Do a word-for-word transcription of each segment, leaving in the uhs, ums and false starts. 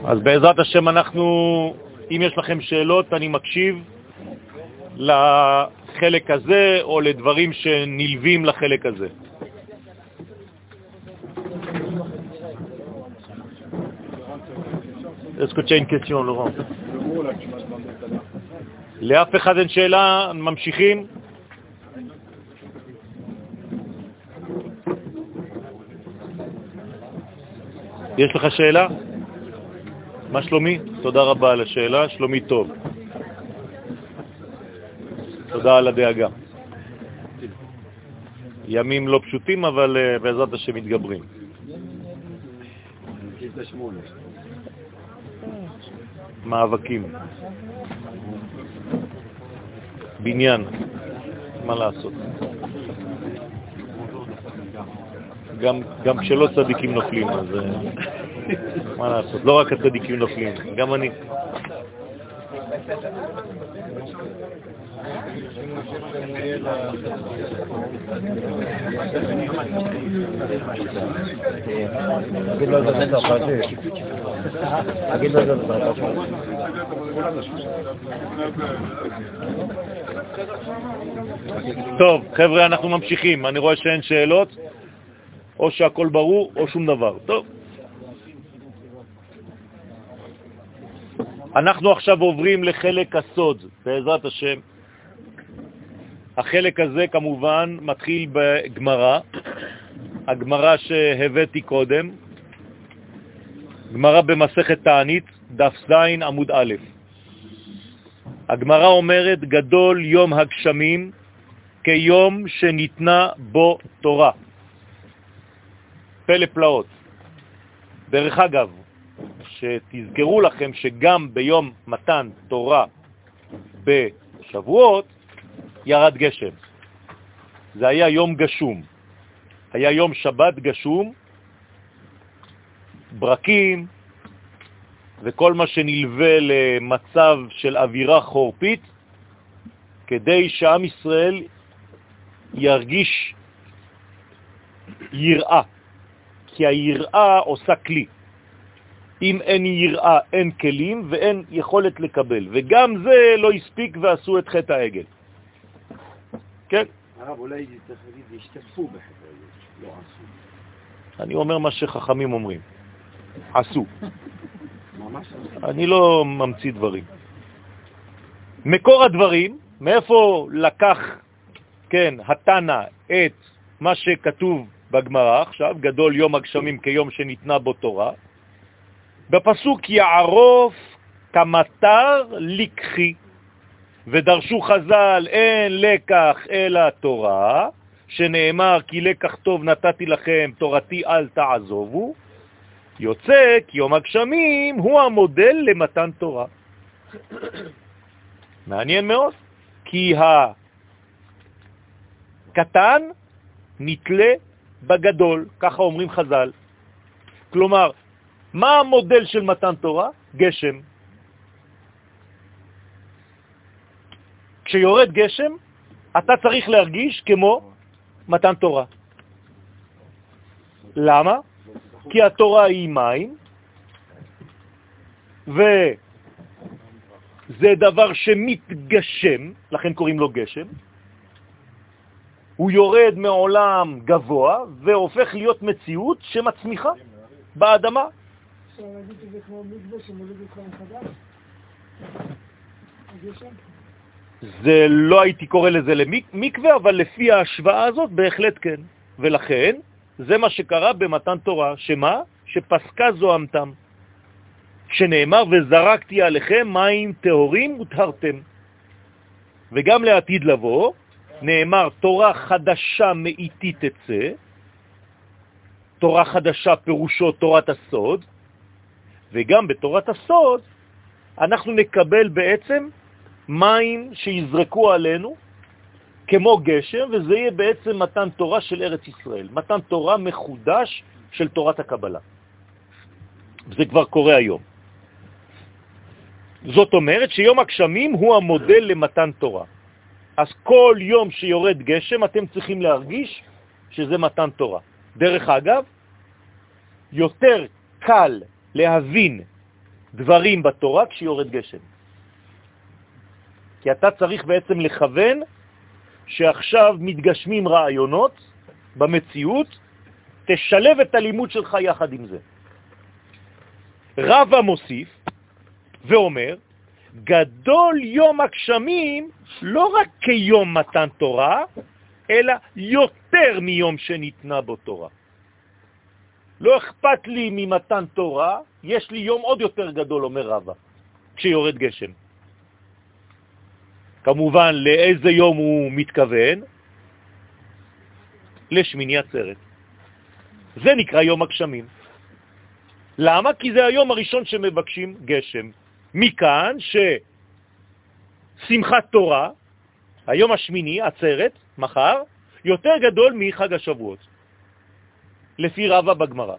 אז בעזרת השם אנחנו, אם יש לכם שאלות, אני מקשיב לחלק הזה או לדברים שנלווים לחלק הזה. Est-ce que tu as une question, Laurent? לאף אחד אין שאלה, ממשיכים. יש לך שאלה? מה שלומי? תודה רבה על השאלה, שלומי טוב. תודה על הדאגה. ימים לא פשוטים, אבל uh, בעזרת השם מתגברים. מאבקים. בניין. מה לעשות? גם, גם כשלא צדיקים נופלים, אז מה לעשות? לא רק הצדיקים נופלים, גם אני. טוב, חבר'ה, אנחנו ממשיכים. אני רואה שאין שאלות, או שהכל ברור, או שום דבר. טוב. אנחנו עכשיו עוברים לחלק הסוד, בעזרת השם. החלק הזה כמובן מתחיל בגמרא, הגמרא שהבאתי קודם, גמרא במסכת תענית, דף זין עמוד א'. הגמרא אומרת, גדול יום הגשמים כיום שניתנה בו תורה. פלא פלאות. דרך אגב, שתזכרו לכם שגם ביום מתן תורה בשבועות ירד גשם. זה היה יום גשום. היה יום שבת גשום, ברקים וכל מה שנלווה למצב של אווירה חורפית, כדי שעם ישראל ירגיש יראה. כי היראה עושה כלי. אם אין יראה, אין כלים ואין יכולת לקבל. וגם זה לא הספיק ועשו את חטא העגל. כן? הרב, אולי צריך להגיד, השתתפו בחטא העגל, לא עשו. אני אומר מה שחכמים אומרים. עשו. ממש עשו. אני לא ממציא דברים. מקור הדברים, מאיפה לקח, כן, התנא את מה שכתוב בגמרא, עכשיו, גדול יום הגשמים כיום שניתנה בו תורה, בפסוק יערוף כמטר לקחי, ודרשו חז"ל אין לקח אלא תורה, שנאמר כי לקח טוב נתתי לכם, תורתי אל תעזובו, יוצא כי יום הגשמים הוא המודל למתן תורה. מעניין מאוד, כי הקטן נתלה בגדול, ככה אומרים חז"ל. כלומר, מה המודל של מתן תורה? גשם. כשיורד גשם, אתה צריך להרגיש כמו מתן תורה. למה? כי התורה היא מים, וזה דבר שמתגשם, לכן קוראים לו גשם. הוא יורד מעולם גבוה והופך להיות מציאות שמצמיחה באדמה. אפשר להגיד שזה כמו מקווה שמוליד אותך מחדש? הגשם? זה לא הייתי קורא לזה למקווה, אבל לפי ההשוואה הזאת בהחלט כן. ולכן זה מה שקרה במתן תורה, שמה? שפסקה זוהמתם. שנאמר וזרקתי עליכם מים טהורים וטהרתם. וגם לעתיד לבוא נאמר תורה חדשה מאיתי תצא, תורה חדשה פירושו תורת הסוד, וגם בתורת הסוד אנחנו נקבל בעצם מים שיזרקו עלינו כמו גשם, וזה יהיה בעצם מתן תורה של ארץ ישראל, מתן תורה מחודש של תורת הקבלה. זה כבר קורה היום. זאת אומרת שיום הגשמים הוא המודל למתן תורה. אז כל יום שיורד גשם אתם צריכים להרגיש שזה מתן תורה. דרך אגב, יותר קל להבין דברים בתורה כשיורד גשם. כי אתה צריך בעצם לכוון שעכשיו מתגשמים רעיונות במציאות, תשלב את הלימוד שלך יחד עם זה. רבא מוסיף ואומר, גדול יום הגשמים לא רק כיום מתן תורה, אלא יותר מיום שניתנה בו תורה. לא אכפת לי ממתן תורה, יש לי יום עוד יותר גדול, אומר רבא, כשיורד גשם. כמובן, לאיזה יום הוא מתכוון? לשמיני עצרת. זה נקרא יום הגשמים. למה? כי זה היום הראשון שמבקשים גשם. מכאן ששמחת תורה, היום השמיני, עצרת, מחר, יותר גדול מחג השבועות. לפי רבא בגמרא.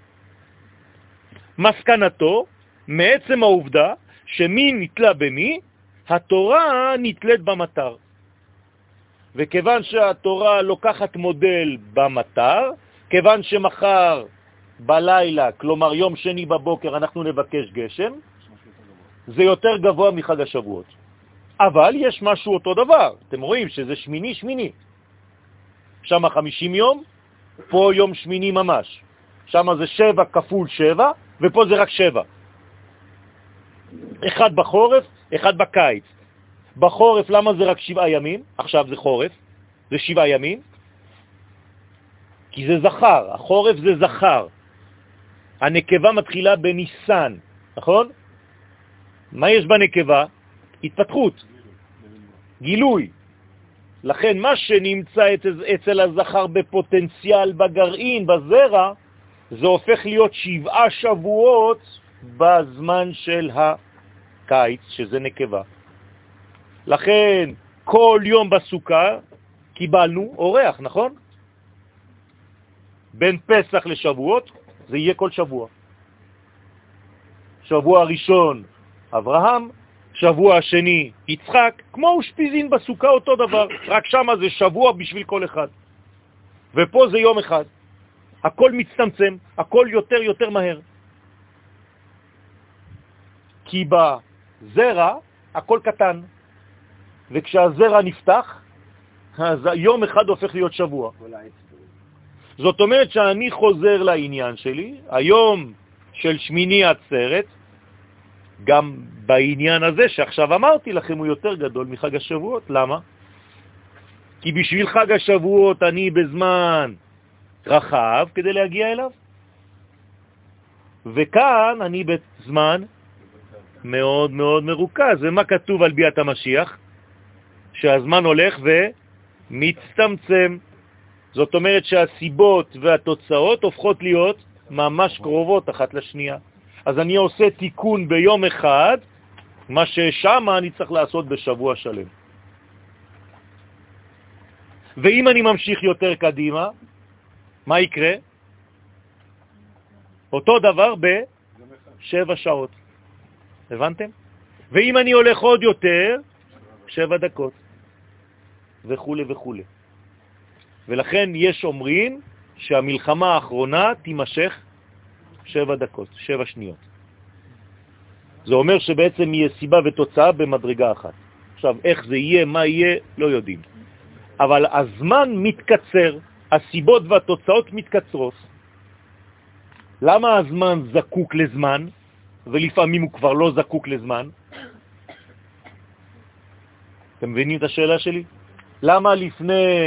מסקנתו, מעצם העובדה שמי נתלה במי, התורה נתלית במטר. וכיוון שהתורה לוקחת מודל במטר, כיוון שמחר בלילה, כלומר יום שני בבוקר, אנחנו נבקש גשם, זה יותר גבוה מחג השבועות. אבל יש משהו אותו דבר. אתם רואים שזה שמיני שמיני. שם חמישים יום, פה יום שמיני ממש. שם זה שבע כפול שבע, ופה זה רק שבע. אחד בחורף, אחד בקיץ. בחורף למה זה רק שבעה ימים? עכשיו זה חורף, זה שבעה ימים. כי זה זכר, החורף זה זכר. הנקבה מתחילה בניסן, נכון? מה יש בנקבה? התפתחות, גילוי. לכן מה שנמצא אצל הזכר בפוטנציאל בגרעין, בזרע, זה הופך להיות שבעה שבועות בזמן של הקיץ, שזה נקבה. לכן כל יום בסוכה קיבלנו אורח, נכון? בין פסח לשבועות זה יהיה כל שבוע. שבוע הראשון אברהם, שבוע השני יצחק, כמו אושפיזין בסוכה אותו דבר, רק שם זה שבוע בשביל כל אחד. ופה זה יום אחד. הכל מצטמצם, הכל יותר יותר מהר. כי בזרע הכל קטן, וכשהזרע נפתח, אז יום אחד הופך להיות שבוע. זאת אומרת שאני חוזר לעניין שלי, היום של שמיני עצרת, גם בעניין הזה שעכשיו אמרתי לכם הוא יותר גדול מחג השבועות. למה? כי בשביל חג השבועות אני בזמן רחב כדי להגיע אליו, וכאן אני בזמן מאוד מאוד מרוכז. ומה כתוב על ביאת המשיח? שהזמן הולך ומצטמצם. זאת אומרת שהסיבות והתוצאות הופכות להיות ממש קרובות אחת לשנייה. אז אני עושה תיקון ביום אחד, מה ששם אני צריך לעשות בשבוע שלם. ואם אני ממשיך יותר קדימה, מה יקרה? אותו דבר בשבע שעות. הבנתם? ואם אני הולך עוד יותר, שבע דקות. וכו' וכו'. ולכן יש אומרים שהמלחמה האחרונה תימשך שבע דקות, שבע שניות. זה אומר שבעצם יהיה סיבה ותוצאה במדרגה אחת. עכשיו, איך זה יהיה, מה יהיה, לא יודעים. אבל הזמן מתקצר, הסיבות והתוצאות מתקצרות. למה הזמן זקוק לזמן, ולפעמים הוא כבר לא זקוק לזמן? אתם מבינים את השאלה שלי? למה לפני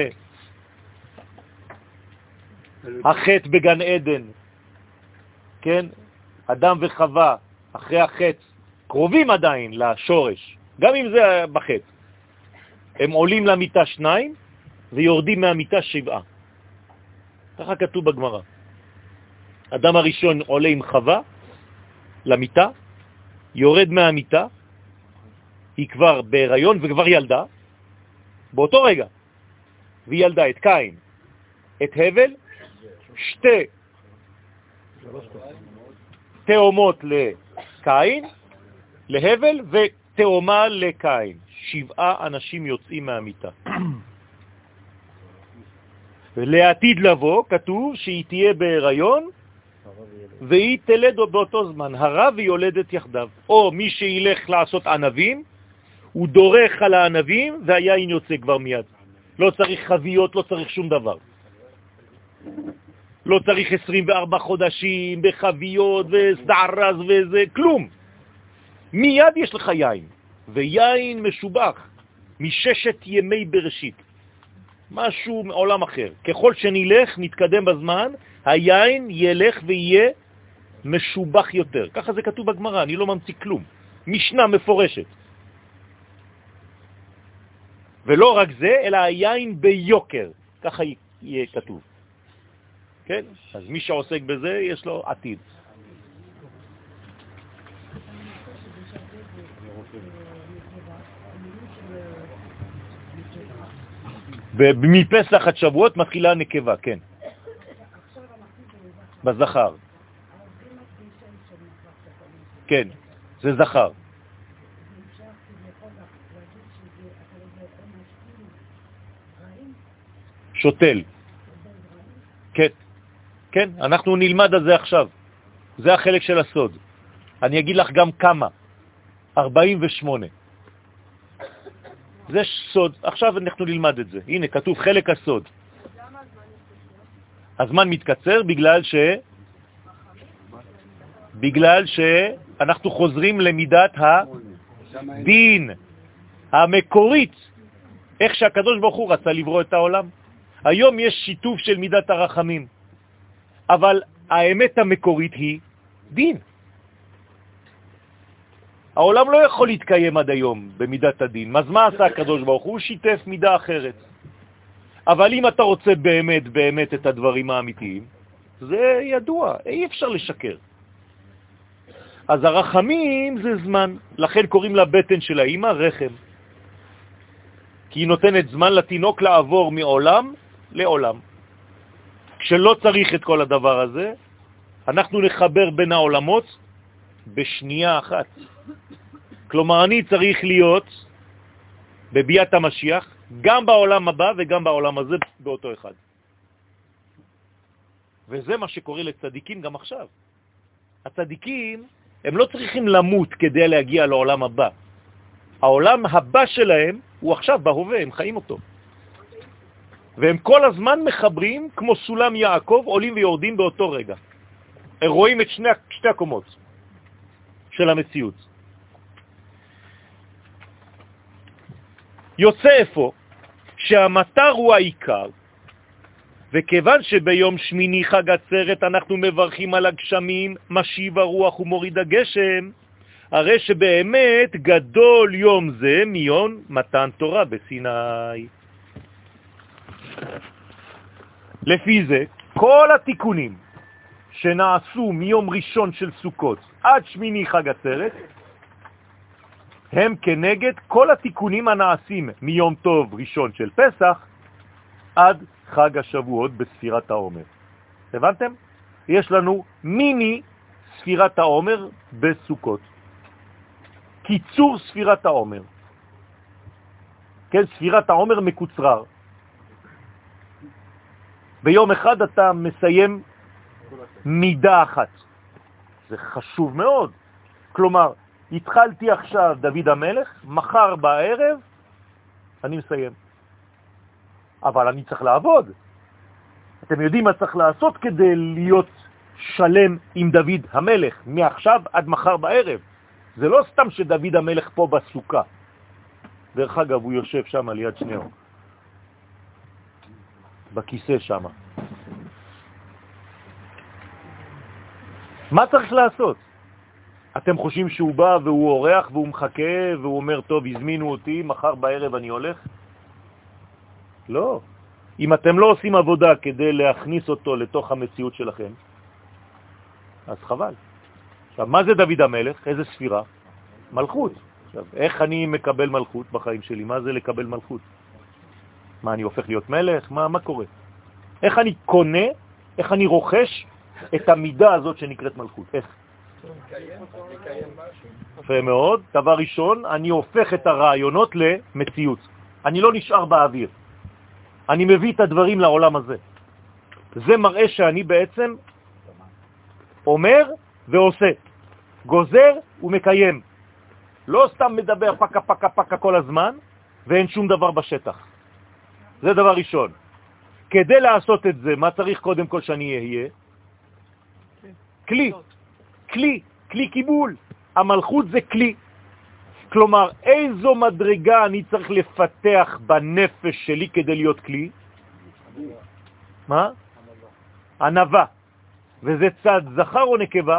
החטא בגן עדן, כן, אדם וחווה, אחרי החטא, קרובים עדיין לשורש, גם אם זה בחטא, הם עולים למיטה שניים ויורדים מהמיטה שבעה. ככה כתוב בגמרא. אדם הראשון עולה עם חווה למיטה, יורד מהמיטה, היא כבר בהיריון וכבר ילדה, באותו רגע, והיא ילדה את קין, את הבל, שתי תאומות לקין, להבל, ותאומה לקין. שבעה אנשים יוצאים מהמיטה. לעתיד לבוא כתוב שהיא תהיה בהיריון והיא תלד באותו זמן, הרע ויולדת יחדיו. או מי שילך לעשות ענבים, הוא דורך על הענבים והיין יוצא כבר מיד. לא צריך חביות, לא צריך שום דבר. לא צריך עשרים וארבעה חודשים בחביות וסערז וזה, כלום. מיד יש לך יין, ויין משובח מששת ימי בראשית. משהו מעולם אחר. ככל שנלך, נתקדם בזמן, היין ילך ויהיה משובח יותר. ככה זה כתוב בגמרא, אני לא ממציא כלום. משנה מפורשת. ולא רק זה, אלא היין ביוקר. ככה יהיה כתוב. כן? אז מי שעוסק בזה, יש לו עתיד. ומפסח עד שבועות מתחילה נקבה, כן. בזכר. כן, זה זכר. שוטל. כן, כן, אנחנו נלמד על זה עכשיו. זה החלק של הסוד. אני אגיד לך גם כמה. ארבעים ושמונה. זה סוד. עכשיו אנחנו נלמד את זה. הנה, כתוב חלק הסוד. הזמן מתקצר בגלל ש... בגלל שאנחנו חוזרים למידת הדין המקורית. איך שהקדוש ברוך הוא רצה לברוא את העולם. היום יש שיתוף של מידת הרחמים. אבל האמת המקורית היא דין. העולם לא יכול להתקיים עד היום במידת הדין. אז מה עשה הקדוש ברוך הוא? הוא שיתף מידה אחרת. אבל אם אתה רוצה באמת באמת את הדברים האמיתיים, זה ידוע, אי אפשר לשקר. אז הרחמים זה זמן, לכן קוראים לבטן של האמא רחם. כי היא נותנת זמן לתינוק לעבור מעולם לעולם. כשלא צריך את כל הדבר הזה, אנחנו נחבר בין העולמות בשנייה אחת. כלומר, אני צריך להיות בביאת המשיח, גם בעולם הבא וגם בעולם הזה באותו אחד. וזה מה שקורה לצדיקים גם עכשיו. הצדיקים, הם לא צריכים למות כדי להגיע לעולם הבא. העולם הבא שלהם הוא עכשיו בהווה, הם חיים אותו. והם כל הזמן מחברים כמו סולם יעקב, עולים ויורדים באותו רגע. הם רואים את שני, שתי הקומות של המציאות. יוצא איפה שהמטר הוא העיקר, וכיוון שביום שמיני חג עצרת אנחנו מברכים על הגשמים, משיב הרוח ומוריד הגשם, הרי שבאמת גדול יום זה מיום מתן תורה בסיני. לפי זה, כל התיקונים שנעשו מיום ראשון של סוכות עד שמיני חג עצרת, הם כנגד כל התיקונים הנעשים מיום טוב ראשון של פסח עד חג השבועות בספירת העומר. הבנתם? יש לנו מיני ספירת העומר בסוכות. קיצור ספירת העומר. כן, ספירת העומר מקוצרר. ביום אחד אתה מסיים מידה אחת. זה חשוב מאוד. כלומר, התחלתי עכשיו דוד המלך, מחר בערב אני מסיים. אבל אני צריך לעבוד. אתם יודעים מה צריך לעשות כדי להיות שלם עם דוד המלך, מעכשיו עד מחר בערב. זה לא סתם שדוד המלך פה בסוכה. דרך אגב, הוא יושב שם ליד שניאו. בכיסא שם. מה צריך לעשות? אתם חושבים שהוא בא והוא אורח והוא מחכה והוא אומר, טוב, הזמינו אותי, מחר בערב אני הולך? לא. אם אתם לא עושים עבודה כדי להכניס אותו לתוך המציאות שלכם, אז חבל. עכשיו, מה זה דוד המלך? איזה ספירה? מלכות. עכשיו, איך אני מקבל מלכות בחיים שלי? מה זה לקבל מלכות? מה, אני הופך להיות מלך? מה, מה קורה? איך אני קונה, איך אני רוכש את המידה הזאת שנקראת מלכות? איך? יפה מאוד. דבר ראשון, אני הופך את הרעיונות למציאות. אני לא נשאר באוויר. אני מביא את הדברים לעולם הזה. זה מראה שאני בעצם אומר ועושה, גוזר ומקיים. לא סתם מדבר פקה פקה פקה כל הזמן, ואין שום דבר בשטח. זה דבר ראשון. כדי לעשות את זה, מה צריך קודם כל שאני אהיה? כלי. כלי. כלי קיבול. המלכות זה כלי. כלומר, איזו מדרגה אני צריך לפתח בנפש שלי כדי להיות כלי? מה? ענווה. וזה צד זכר או נקבה?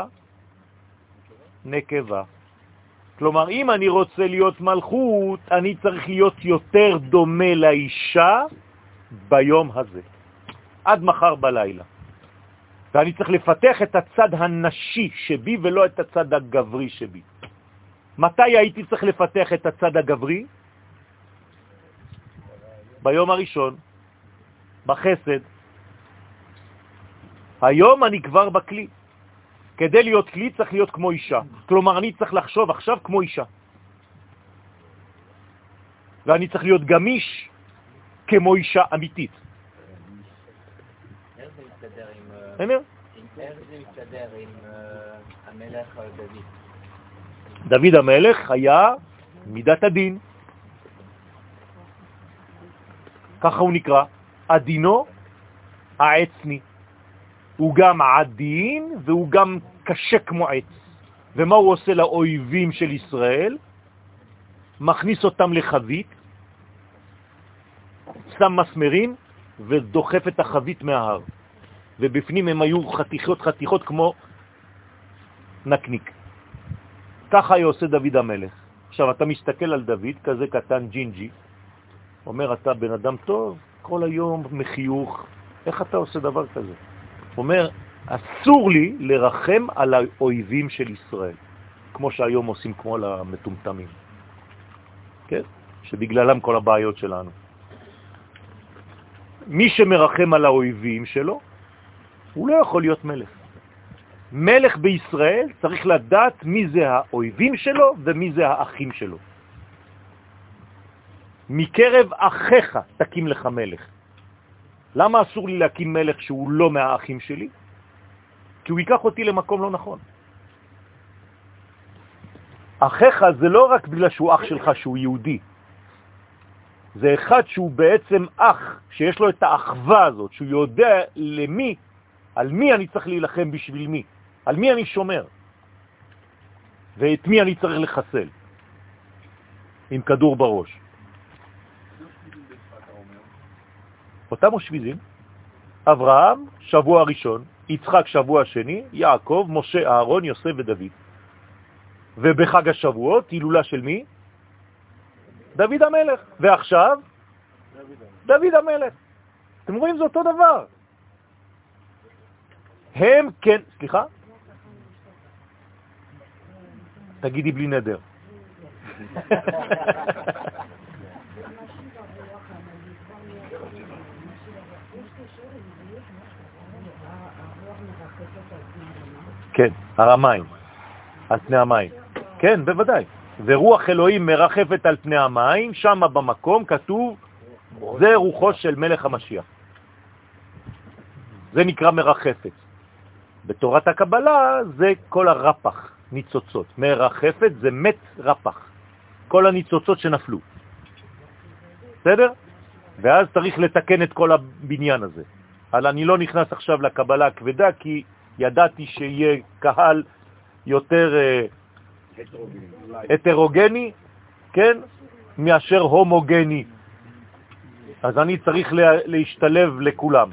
נקבה. כלומר, אם אני רוצה להיות מלכות, אני צריך להיות יותר דומה לאישה ביום הזה, עד מחר בלילה. ואני צריך לפתח את הצד הנשי שבי ולא את הצד הגברי שבי. מתי הייתי צריך לפתח את הצד הגברי? ביום הראשון, בחסד. היום אני כבר בכלי. כדי להיות כלי צריך להיות כמו אישה. כלומר, אני צריך לחשוב עכשיו כמו אישה. ואני צריך להיות גמיש כמו אישה אמיתית. איך זה מסתדר עם... אמר? איך זה מסתדר עם המלך דוד? דוד המלך היה מידת הדין. ככה הוא נקרא. עדינו העצני. הוא גם עדין והוא גם קשה כמו עץ. ומה הוא עושה לאויבים של ישראל? מכניס אותם לחבית, שם מסמרים ודוחף את החבית מההר. ובפנים הם היו חתיכות חתיכות כמו נקניק. ככה היה עושה דוד המלך. עכשיו אתה מסתכל על דוד, כזה קטן ג'ינג'י, אומר אתה בן אדם טוב, כל היום מחיוך, איך אתה עושה דבר כזה? אומר, אסור לי לרחם על האויבים של ישראל, כמו שהיום עושים כמו למטומטמים, כן? שבגללם כל הבעיות שלנו. מי שמרחם על האויבים שלו, הוא לא יכול להיות מלך. מלך בישראל צריך לדעת מי זה האויבים שלו ומי זה האחים שלו. מקרב אחיך תקים לך מלך. למה אסור לי להקים מלך שהוא לא מהאחים שלי? כי הוא ייקח אותי למקום לא נכון. אחיך זה לא רק בגלל שהוא אח שלך שהוא יהודי. זה אחד שהוא בעצם אח, שיש לו את האחווה הזאת, שהוא יודע למי, על מי אני צריך להילחם בשביל מי, על מי אני שומר, ואת מי אני צריך לחסל, עם כדור בראש. אותם השביזים, אברהם, שבוע ראשון, יצחק שבוע שני, יעקב, משה, אהרון, יוסף ודוד. ובחג השבועות, הילולה של מי? דוד המלך. ועכשיו? דוד המלך. אתם רואים, זה אותו דבר. הם כן, סליחה? תגידי בלי נדר. כן, הרמיים, על פני המים. כן, בוודאי. ורוח אלוהים מרחפת על פני המים, שם במקום כתוב, זה רוחו של מלך המשיח. זה נקרא מרחפת. בתורת הקבלה זה כל הרפח, ניצוצות. מרחפת זה מת רפח. כל הניצוצות שנפלו. בסדר? ואז צריך לתקן את כל הבניין הזה. אבל אני לא נכנס עכשיו לקבלה הכבדה, כי ידעתי שיהיה קהל יותר הטרוגני, כן, מאשר הומוגני. אז אני צריך להשתלב לכולם.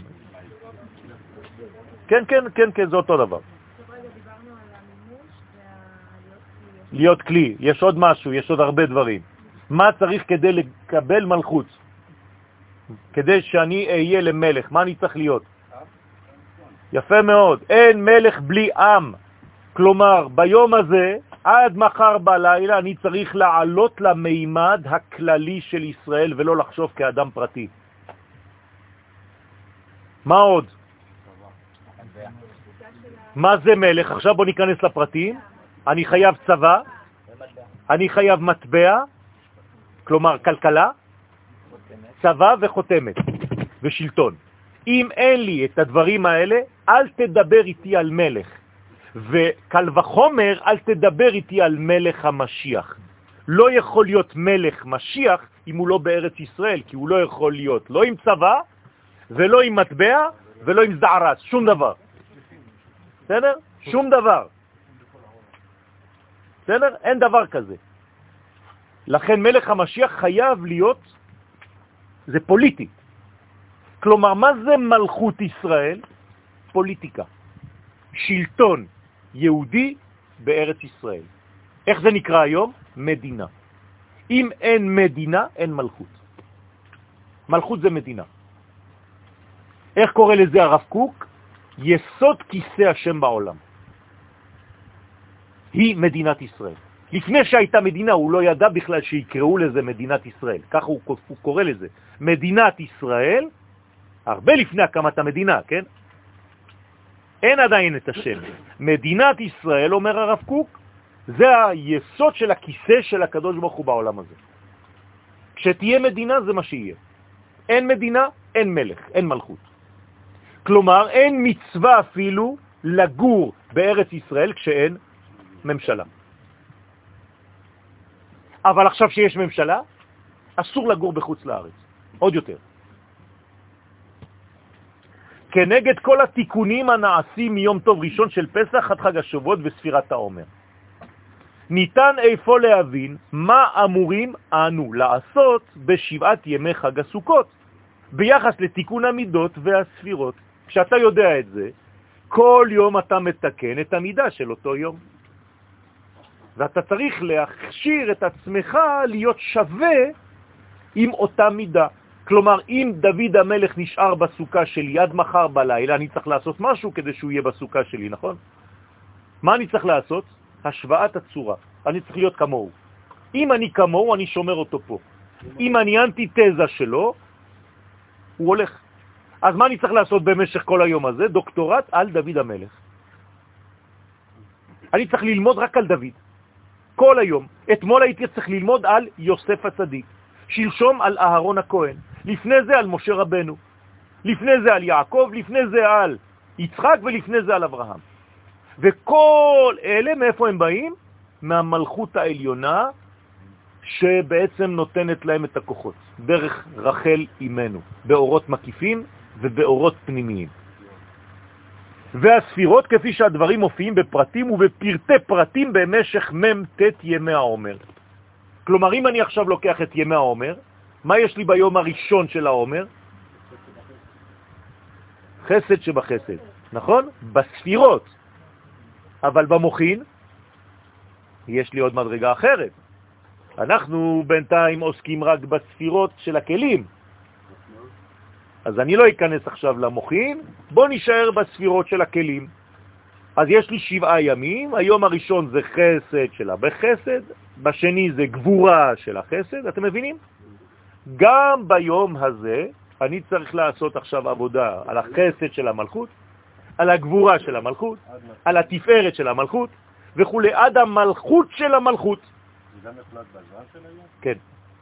כן, כן, כן, כן, זה אותו דבר. להיות כלי. יש עוד משהו, יש עוד הרבה דברים. מה צריך כדי לקבל מלכות? כדי שאני אהיה למלך, מה אני צריך להיות? יפה מאוד. אין מלך בלי עם. כלומר, ביום הזה, עד מחר בלילה, אני צריך לעלות למימד הכללי של ישראל, ולא לחשוב כאדם פרטי. מה עוד? מה זה מלך? עכשיו בוא ניכנס לפרטים. אני חייב צבא, אני חייב מטבע, כלומר כלכלה, צבא וחותמת ושלטון. אם אין לי את הדברים האלה, אל תדבר איתי על מלך. וקל וחומר, אל תדבר איתי על מלך המשיח. לא יכול להיות מלך משיח אם הוא לא בארץ ישראל, כי הוא לא יכול להיות לא עם צבא, ולא עם מטבע, ולא עם זערס, שום דבר. בסדר? שום דבר. בסדר? אין דבר כזה. לכן מלך המשיח חייב להיות, זה פוליטי. כלומר, מה זה מלכות ישראל? פוליטיקה. שלטון יהודי בארץ ישראל. איך זה נקרא היום? מדינה. אם אין מדינה, אין מלכות. מלכות זה מדינה. איך קורא לזה הרב קוק? יסוד כיסא השם בעולם. היא מדינת ישראל. לפני שהייתה מדינה, הוא לא ידע בכלל שיקראו לזה מדינת ישראל. ככה הוא, הוא קורא לזה. מדינת ישראל, הרבה לפני הקמת המדינה, כן? אין עדיין את השם. מדינת ישראל, אומר הרב קוק, זה היסוד של הכיסא של הקדוש ברוך הוא בעולם הזה. כשתהיה מדינה זה מה שיהיה. אין מדינה, אין מלך, אין מלכות. כלומר, אין מצווה אפילו לגור בארץ ישראל כשאין ממשלה. אבל עכשיו שיש ממשלה, אסור לגור בחוץ לארץ. עוד יותר. כנגד כל התיקונים הנעשים מיום טוב ראשון של פסח עד חג השבועות וספירת העומר. ניתן איפה להבין מה אמורים אנו לעשות בשבעת ימי חג הסוכות, ביחס לתיקון המידות והספירות. כשאתה יודע את זה, כל יום אתה מתקן את המידה של אותו יום. ואתה צריך להכשיר את עצמך להיות שווה עם אותה מידה. כלומר, אם דוד המלך נשאר בסוכה שלי עד מחר בלילה, אני צריך לעשות משהו כדי שהוא יהיה בסוכה שלי, נכון? מה אני צריך לעשות? השוואת הצורה. אני צריך להיות כמוהו. אם אני כמוהו, אני שומר אותו פה. אם אני אנטיתזה שלו, הוא הולך. אז מה אני צריך לעשות במשך כל היום הזה? דוקטורט על דוד המלך. אני צריך ללמוד רק על דוד. כל היום. אתמול הייתי צריך ללמוד על יוסף הצדיק. שלשום על אהרון הכהן. לפני זה על משה רבנו. לפני זה על יעקב, לפני זה על יצחק ולפני זה על אברהם. וכל אלה מאיפה הם באים? מהמלכות העליונה שבעצם נותנת להם את הכוחות. דרך רחל אימנו. באורות מקיפים ובאורות פנימיים. והספירות כפי שהדברים מופיעים בפרטים ובפרטי פרטים במשך ממתת ימי העומר. כלומר, אם אני עכשיו לוקח את ימי העומר, מה יש לי ביום הראשון של העומר? חסד שבחסד, נכון? בספירות. אבל במוחין יש לי עוד מדרגה אחרת. אנחנו בינתיים עוסקים רק בספירות של הכלים. אז אני לא אכנס עכשיו למוחין, בוא נשאר בספירות של הכלים. אז יש לי שבעה ימים, היום הראשון זה חסד שלה בחסד, בשני זה גבורה של החסד, אתם מבינים? גם ביום הזה אני צריך לעשות עכשיו עבודה על החסד של המלכות, על הגבורה של המלכות, על התפארת של המלכות, וכו' עד המלכות של המלכות. זה גם יחלט בזמן של היום? כן.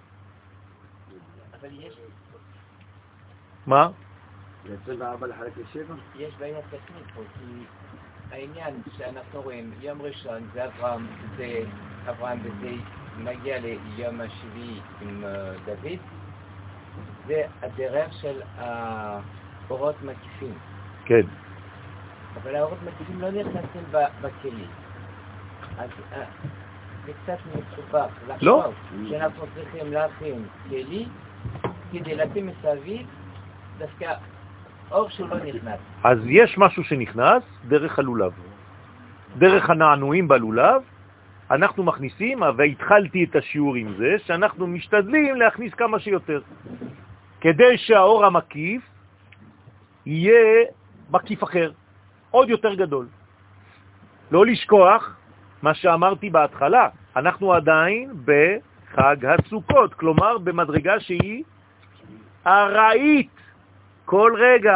אבל יש... מה? זה עשרים וארבע לחלק לשבע? יש בעיה טכנית פה, כי העניין שאנחנו רואים, יום ראשון זה אברהם, זה אברהם וזה מגיע ליום השביעי עם דוד, זה הדרך של האורות מקיפים. כן. אבל האורות מקיפים לא נכנסים בכלים. אז זה קצת מסובך לא. לחשוב שאנחנו צריכים להכין כלי כדי לשים מסביב דווקא אור שהוא לא נכנס. אז יש משהו שנכנס דרך הלולב. דרך הנענועים בלולב, אנחנו מכניסים, והתחלתי את השיעור עם זה, שאנחנו משתדלים להכניס כמה שיותר. כדי שהאור המקיף יהיה מקיף אחר, עוד יותר גדול. לא לשכוח מה שאמרתי בהתחלה, אנחנו עדיין בחג הסוכות, כלומר במדרגה שהיא ארעית כל רגע.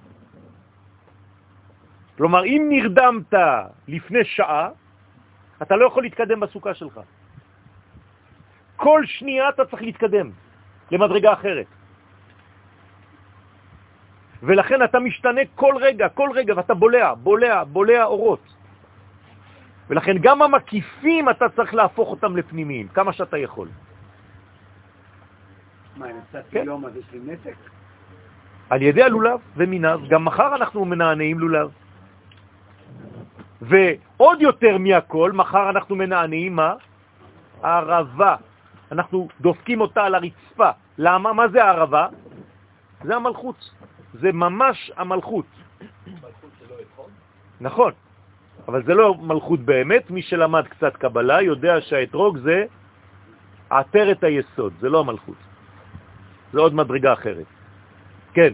כלומר, אם נרדמת לפני שעה, אתה לא יכול להתקדם בסוכה שלך. כל שנייה אתה צריך להתקדם למדרגה אחרת. ולכן אתה משתנה כל רגע, כל רגע, ואתה בולע, בולע, בולע אורות. ולכן גם המקיפים אתה צריך להפוך אותם לפנימיים, כמה שאתה יכול. מה, אני נצאתי כן. יום אז יש לי נתק? על ידי הלולב ומיניו, גם מחר אנחנו מנענעים לולב. ועוד יותר מהכל, מחר אנחנו מנענעים מה? ערבה. אנחנו דופקים אותה על הרצפה. למה? מה זה הערבה? זה המלכות. זה ממש המלכות. מלכות שלא יכול? נכון. אבל זה לא מלכות באמת. מי שלמד קצת קבלה יודע שהאתרוג זה עטרת היסוד. זה לא המלכות. זה עוד מדרגה אחרת. כן.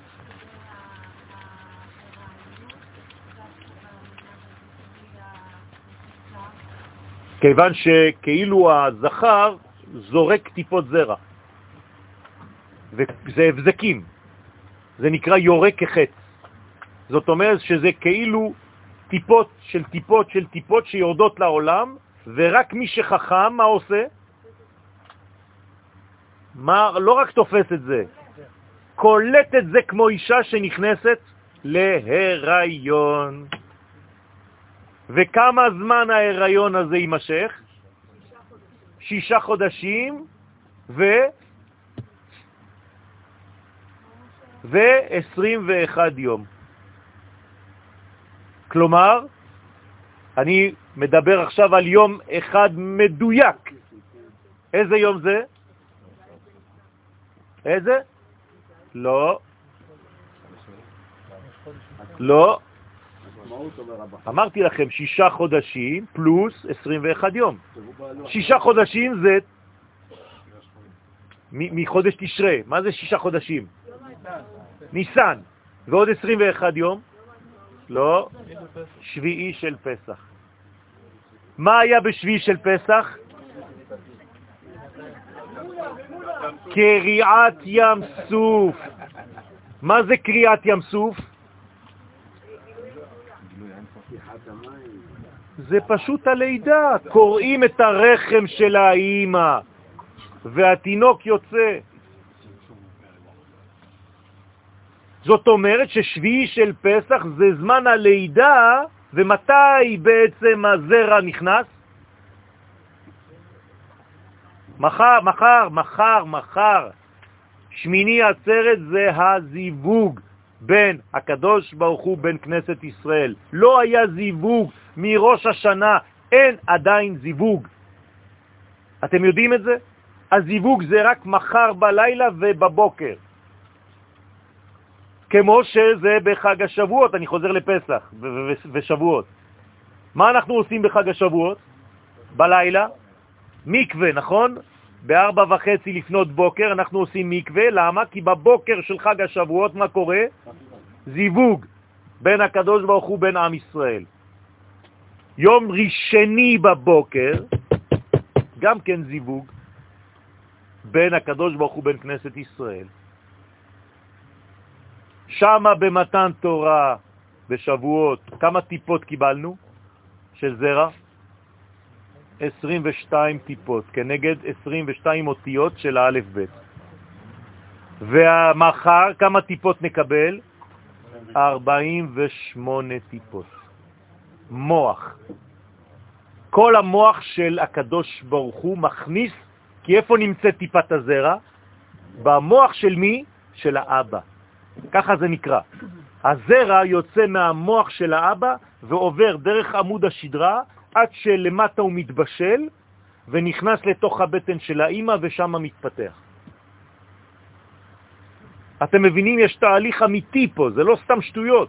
כיוון שכאילו הזכר זורק טיפות זרע. וזה הבזקים. זה נקרא יורק כחץ. זאת אומרת שזה כאילו טיפות של טיפות של טיפות שיורדות לעולם, ורק מי שחכם, מה עושה? מה, לא רק תופס את זה, קולט את זה כמו אישה שנכנסת להיריון. וכמה זמן ההיריון הזה יימשך? שישה חודשים ו... ו-עשרים ואחד יום. כלומר, אני מדבר עכשיו על יום אחד מדויק. איזה יום זה? איזה? לא. לא. אמרתי לכם שישה חודשים פלוס עשרים ואחד יום. שישה חודשים זה מחודש תשרה. מה זה שישה חודשים? ניסן. ועוד עשרים ואחד יום? לא. שביעי של פסח. מה היה בשביעי של פסח? קריעת ים סוף. מה זה קריעת ים סוף? זה פשוט הלידה. קוראים את הרחם של האימא והתינוק יוצא. זאת אומרת ששביעי של פסח זה זמן הלידה. ומתי בעצם הזרע נכנס? מחר, מחר, מחר, מחר. שמיני עצרת זה הזיווג בין הקדוש ברוך הוא בין כנסת ישראל. לא היה זיווג מראש השנה, אין עדיין זיווג. אתם יודעים את זה? הזיווג זה רק מחר בלילה ובבוקר. כמו שזה בחג השבועות, אני חוזר לפסח ושבועות. מה אנחנו עושים בחג השבועות? בלילה? מקווה, נכון? בארבע וחצי לפנות בוקר אנחנו עושים מקווה. למה? כי בבוקר של חג השבועות מה קורה? זיווג בין הקדוש ברוך הוא בין עם ישראל. יום ראשני בבוקר גם כן זיווג בין הקדוש ברוך הוא בין כנסת ישראל. שמה במתן תורה בשבועות כמה טיפות קיבלנו של זרע? עשרים ושתיים טיפות כנגד עשרים ושתיים אותיות של האלף בית. ומחר כמה טיפות נקבל? ארבעים ושמונה טיפות. מוח. כל המוח של הקדוש ברוך הוא מכניס, כי איפה נמצא טיפת הזרע? במוח של מי? של האבא. ככה זה נקרא. הזרע יוצא מהמוח של האבא ועובר דרך עמוד השדרה עד שלמטה הוא מתבשל ונכנס לתוך הבטן של האמא ושם מתפתח. אתם מבינים? יש תהליך אמיתי פה, זה לא סתם שטויות.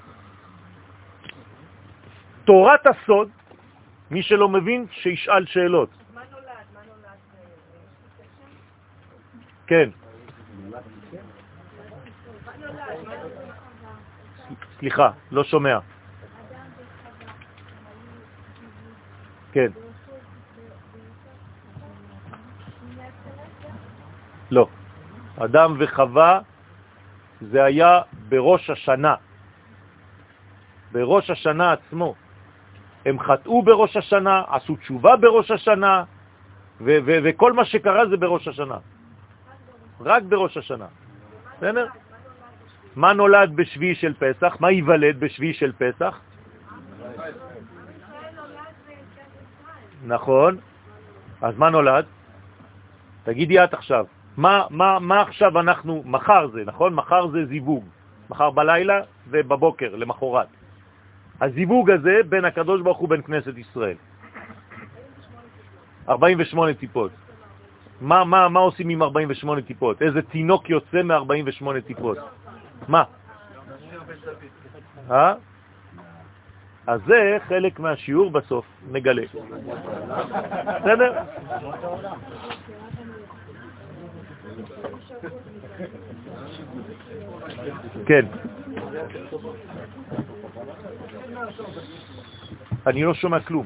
תורת הסוד, מי שלא מבין שישאל שאלות. מה נולד? מה נולד? כן. סליחה, לא שומע. כן. לא. אדם וחווה זה היה בראש השנה. בראש השנה עצמו. הם חטאו בראש השנה, עשו תשובה בראש השנה, ו- ו- וכל מה שקרה זה בראש השנה. רק בראש השנה. בסדר? מה נולד בשביעי של פסח? מה ייוולד בשביעי של פסח? נכון. אז מה נולד? תגידי את עכשיו. מה, מה, מה עכשיו אנחנו, מחר זה, נכון? מחר זה זיווג. מחר בלילה ובבוקר, למחרת. הזיווג הזה בין הקדוש ברוך הוא בין כנסת ישראל. ארבעים ושמונה טיפות. מה, מה, מה עושים עם ארבעים ושמונה טיפות? איזה תינוק יוצא מ-ארבעים ושמונה טיפות? מה? אה? אז זה חלק מהשיעור בסוף, נגלה. בסדר? כן. אני לא שומע כלום.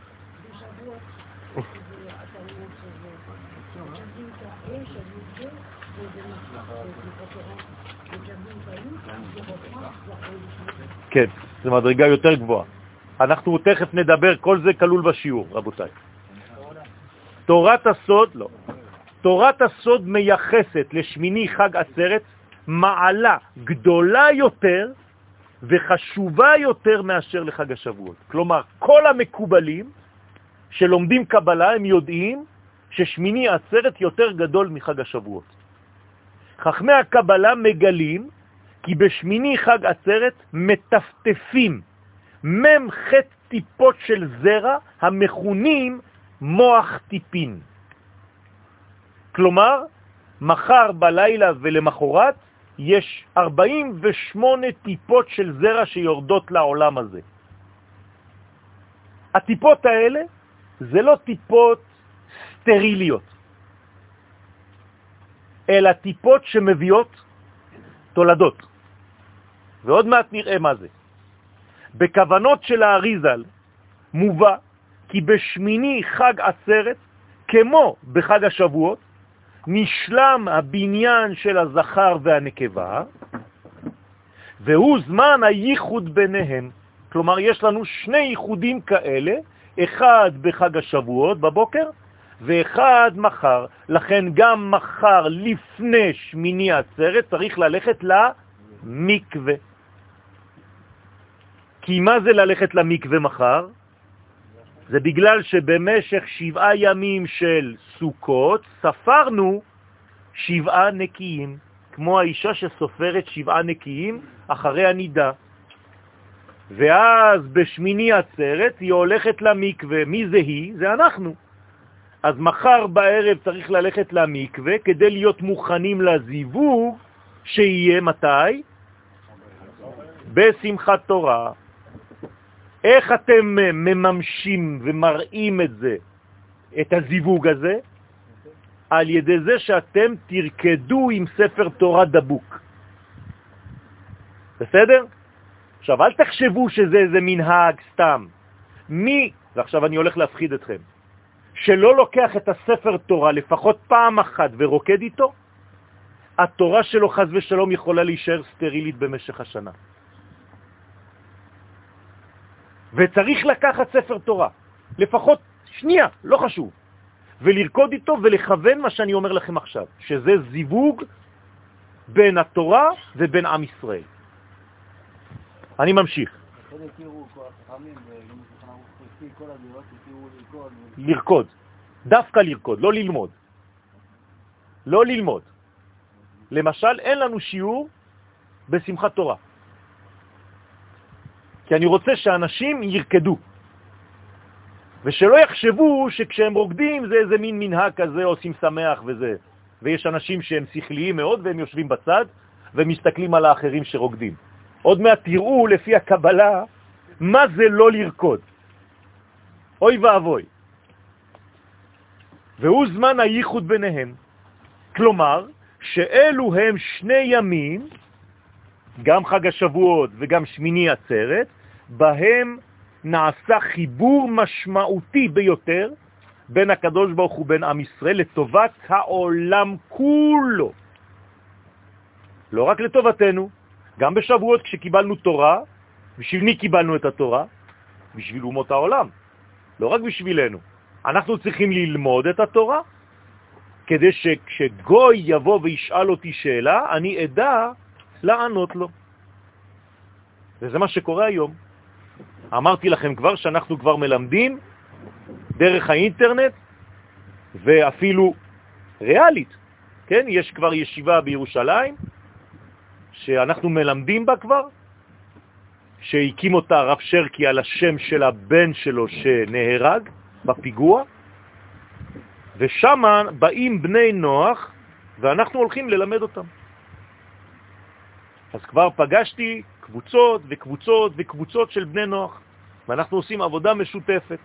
כן, זו מדרגה יותר גבוהה. אנחנו תכף נדבר, כל זה כלול בשיעור, רבותיי. תורת הסוד, לא. תורת הסוד מייחסת לשמיני חג עצרת מעלה גדולה יותר וחשובה יותר מאשר לחג השבועות. כלומר, כל המקובלים שלומדים קבלה הם יודעים ששמיני עצרת יותר גדול מחג השבועות. חכמי הקבלה מגלים כי בשמיני חג עצרת מטפטפים ממחת טיפות של זרע המכונים מוח טיפין. כלומר, מחר בלילה ולמחרת יש ארבעים ושמונה טיפות של זרע שיורדות לעולם הזה. הטיפות האלה זה לא טיפות סטריליות, אלא טיפות שמביאות תולדות. ועוד מעט נראה מה זה. בכוונות של האריזל מובא כי בשמיני חג עצרת, כמו בחג השבועות, נשלם הבניין של הזכר והנקבה, והוא זמן הייחוד ביניהם. כלומר, יש לנו שני ייחודים כאלה, אחד בחג השבועות בבוקר, ואחד מחר. לכן גם מחר לפני שמיני עצרת צריך ללכת למקווה. כי מה זה ללכת למקווה מחר? זה בגלל שבמשך שבעה ימים של סוכות ספרנו שבעה נקיים, כמו האישה שסופרת שבעה נקיים אחרי הנידה. ואז בשמיני עצרת היא הולכת למקווה. מי זה היא? זה אנחנו. אז מחר בערב צריך ללכת למקווה כדי להיות מוכנים לזיווג שיהיה מתי? בשמחת תורה. איך אתם מממשים ומראים את זה, את הזיווג הזה? על ידי זה שאתם תרקדו עם ספר תורה דבוק. בסדר? עכשיו, אל תחשבו שזה איזה מנהג סתם. מי, ועכשיו אני הולך להפחיד אתכם, שלא לוקח את הספר תורה לפחות פעם אחת ורוקד איתו, התורה שלו חז ושלום יכולה להישאר סטרילית במשך השנה. וצריך לקחת ספר תורה, לפחות שנייה, לא חשוב, ולרקוד איתו ולכוון מה שאני אומר לכם עכשיו, שזה זיווג בין התורה ובין עם ישראל. אני ממשיך. לרקוד, דווקא לרקוד, לא ללמוד. לא ללמוד. למשל, אין לנו שיעור בשמחת תורה. כי אני רוצה שאנשים ירקדו. ושלא יחשבו שכשהם רוקדים זה איזה מין מנהג כזה, עושים שמח וזה. ויש אנשים שהם שכליים מאוד והם יושבים בצד ומסתכלים על האחרים שרוקדים. עוד מעט תראו לפי הקבלה מה זה לא לרקוד. אוי ואבוי. והוא זמן הייחוד ביניהם. כלומר, שאלו הם שני ימים, גם חג השבועות וגם שמיני עצרת, בהם נעשה חיבור משמעותי ביותר בין הקדוש ברוך הוא ובין עם ישראל לטובת העולם כולו. לא רק לטובתנו, גם בשבועות כשקיבלנו תורה, בשביל מי קיבלנו את התורה? בשביל אומות העולם, לא רק בשבילנו. אנחנו צריכים ללמוד את התורה, כדי שכשגוי יבוא וישאל אותי שאלה, אני אדע לענות לו. וזה מה שקורה היום. אמרתי לכם כבר שאנחנו כבר מלמדים דרך האינטרנט, ואפילו ריאלית. כן, יש כבר ישיבה בירושלים, שאנחנו מלמדים בה כבר, שהקים אותה הרב שרקי על השם של הבן שלו שנהרג בפיגוע, ושם באים בני נוח, ואנחנו הולכים ללמד אותם. אז כבר פגשתי קבוצות וקבוצות וקבוצות של בני נוח, ואנחנו עושים עבודה משותפת.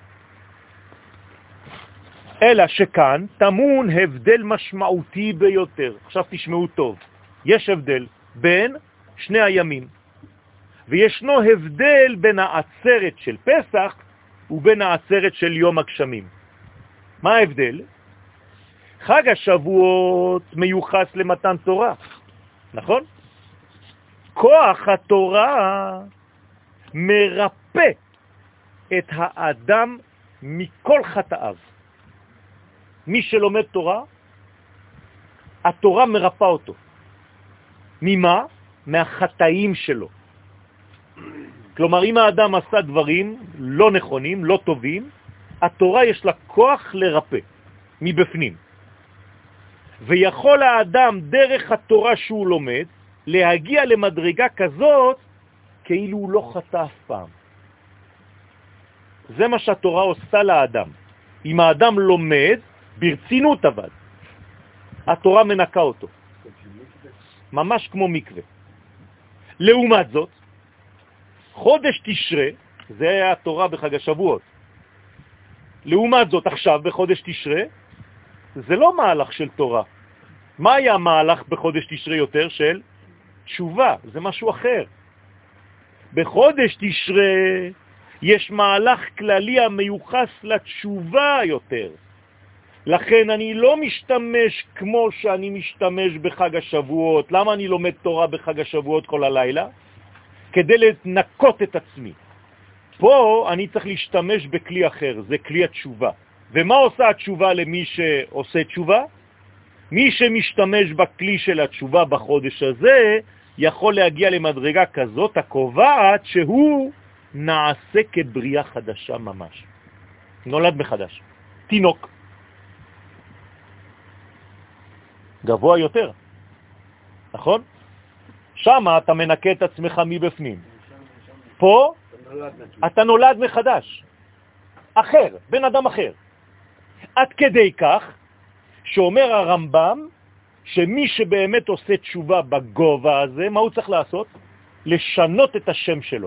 אלא שכאן תמון הבדל משמעותי ביותר. עכשיו תשמעו טוב. יש הבדל בין שני הימים, וישנו הבדל בין העצרת של פסח ובין העצרת של יום הגשמים. מה ההבדל? חג השבועות מיוחס למתן תורה, נכון? כוח התורה מרפא את האדם מכל חטאיו. מי שלומד תורה, התורה מרפא אותו. ממה? מהחטאים שלו. כלומר, אם האדם עשה דברים לא נכונים, לא טובים, התורה יש לה כוח לרפא מבפנים. ויכול האדם דרך התורה שהוא לומד להגיע למדרגה כזאת כאילו הוא לא חטא אף פעם. זה מה שהתורה עושה לאדם. אם האדם לומד ברצינות אבל, התורה מנקה אותו. ממש כמו מקווה. לעומת זאת, חודש תשרה, זה התורה בחג השבועות. לעומת זאת, עכשיו בחודש תשרה, זה לא מהלך של תורה. מה היה המהלך בחודש תשרה יותר? של תשובה, זה משהו אחר. בחודש תשרה יש מהלך כללי המיוחס לתשובה יותר. לכן אני לא משתמש כמו שאני משתמש בחג השבועות. למה אני לומד תורה בחג השבועות כל הלילה? כדי לנקות את עצמי. פה אני צריך להשתמש בכלי אחר, זה כלי התשובה. ומה עושה התשובה למי שעושה תשובה? מי שמשתמש בכלי של התשובה בחודש הזה, יכול להגיע למדרגה כזאת הקובעת שהוא נעשה כבריאה חדשה ממש. נולד מחדש. תינוק. גבוה יותר. נכון? שם אתה מנקה את עצמך מבפנים. פה אתה נולד מחדש. אחר, בן אדם אחר. עד כדי כך שאומר הרמב"ם שמי שבאמת עושה תשובה בגובה הזה, מה הוא צריך לעשות? לשנות את השם שלו.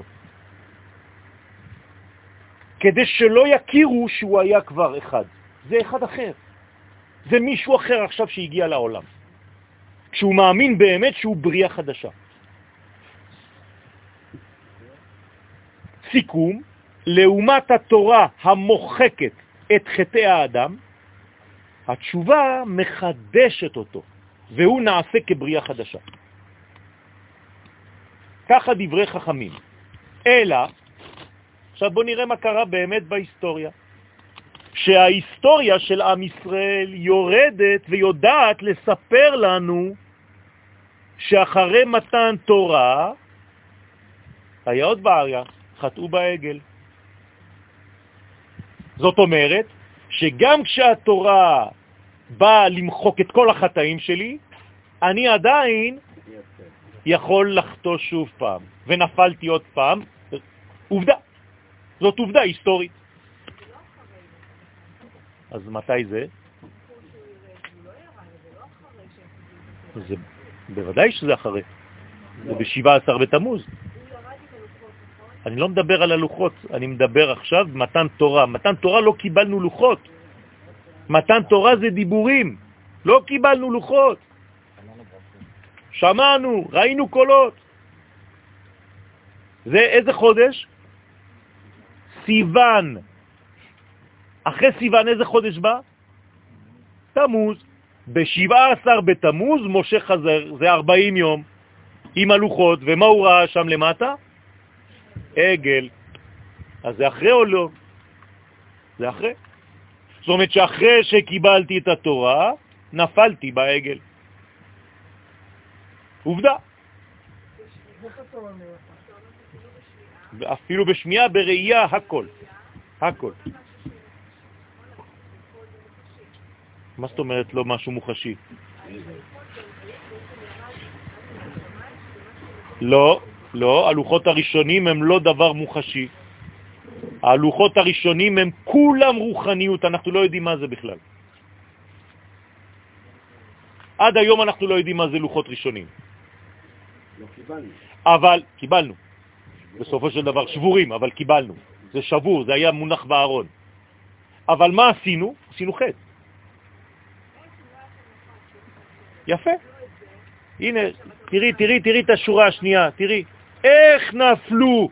כדי שלא יכירו שהוא היה כבר אחד. זה אחד אחר. זה מישהו אחר עכשיו שהגיע לעולם. כשהוא מאמין באמת שהוא בריאה חדשה. סיכום, לעומת התורה המוחקת את חטאי האדם, התשובה מחדשת אותו, והוא נעשה כבריאה חדשה. ככה דברי חכמים. אלא, עכשיו בוא נראה מה קרה באמת בהיסטוריה. שההיסטוריה של עם ישראל יורדת ויודעת לספר לנו שאחרי מתן תורה, היה עוד בעיה, חטאו בעגל. זאת אומרת, שגם כשהתורה באה למחוק את כל החטאים שלי, אני עדיין יכול לחטוא שוב פעם, ונפלתי עוד פעם. עובדה, זאת עובדה היסטורית. אז מתי זה? זה בוודאי שזה אחרי. זה ב-שבעה עשר בתמוז. אני לא מדבר על הלוחות, אני מדבר עכשיו מתן תורה. מתן תורה לא קיבלנו לוחות. מתן תורה זה דיבורים. לא קיבלנו לוחות. שמענו, ראינו קולות. זה איזה חודש? סיוון. אחרי סיוון איזה חודש בא? תמוז. ב-שבעה עשר בתמוז משה חזר, זה ארבעים יום, עם הלוחות, ומה הוא ראה שם למטה? עגל. אז זה אחרי או לא? זה אחרי. זאת אומרת שאחרי שקיבלתי את התורה, נפלתי בעגל. עובדה. אפילו בשמיעה, בראייה, הכל. הכל. מה זאת אומרת לא משהו מוחשי? לא, לא, הלוחות הראשונים הם לא דבר מוחשי. הלוחות הראשונים הם כולם רוחניות, אנחנו לא יודעים מה זה בכלל. עד היום אנחנו לא יודעים מה זה לוחות ראשונים. לא קיבלנו. אבל קיבלנו. בסופו של דבר שבורים, אבל קיבלנו. זה שבור, זה היה מונח בארון. אבל מה עשינו? עשינו חטא. יפה. הנה, תראי, תראי, תראי את השורה השנייה, תראי. איך נפלו,